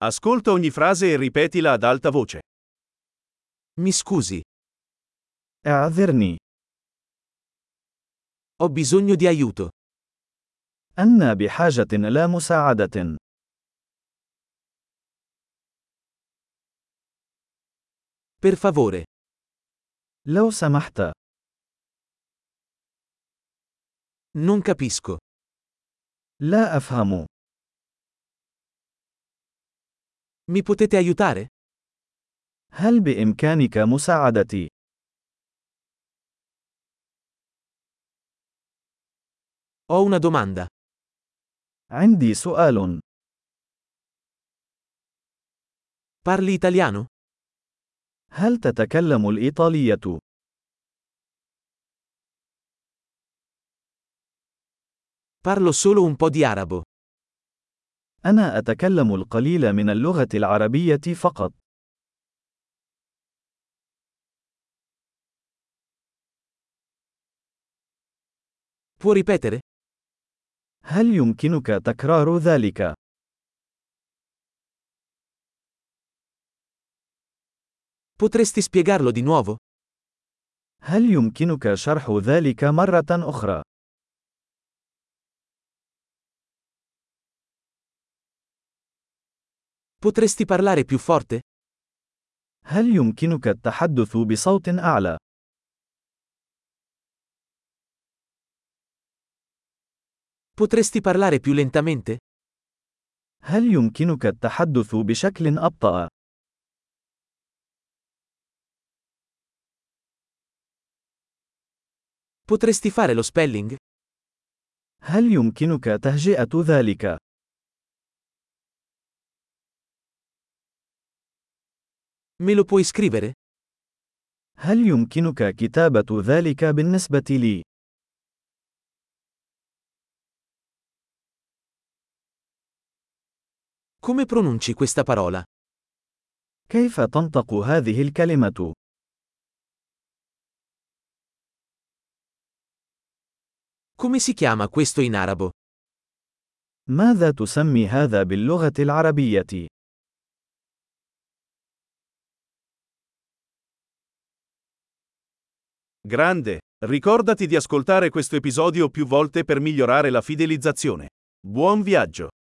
Ascolta ogni frase e ripetila ad alta voce. Mi scusi, اعذرني. ho bisogno di aiuto. أنا بحاجة إلى مساعدة. Per favore, لو سمحت. non capisco. لا أفهم. Mi potete aiutare? هل بإمكانك مساعدتي؟ Ho una domanda. عندي سؤال. Parli italiano? هل تتكلم الإيطالية؟ Parlo solo un po' di arabo. أنا أتكلم القليل من اللغة العربية فقط. Può ripetere? هل يمكنك تكرار ذلك؟ Potresti spiegarlo di nuovo? هل يمكنك شرح ذلك مرة أخرى؟ Potresti parlare più forte? هل يمكنك التحدث بصوت أعلى؟ Potresti parlare più lentamente? هل يمكنك التحدث بشكل أبطأ؟ Potresti fare lo spelling? هل يمكنك تهجئة ذلك؟ Me lo puoi scrivere? هل يمكنك كتابة ذلك بالنسبة لي؟ Come pronunci questa parola? كيف تنطق هذه الكلمة؟ Come si chiama questo in arabo? ماذا تسمي هذا باللغة العربية؟ Grande, ricordati di ascoltare questo episodio più volte per migliorare la fidelizzazione. Buon viaggio!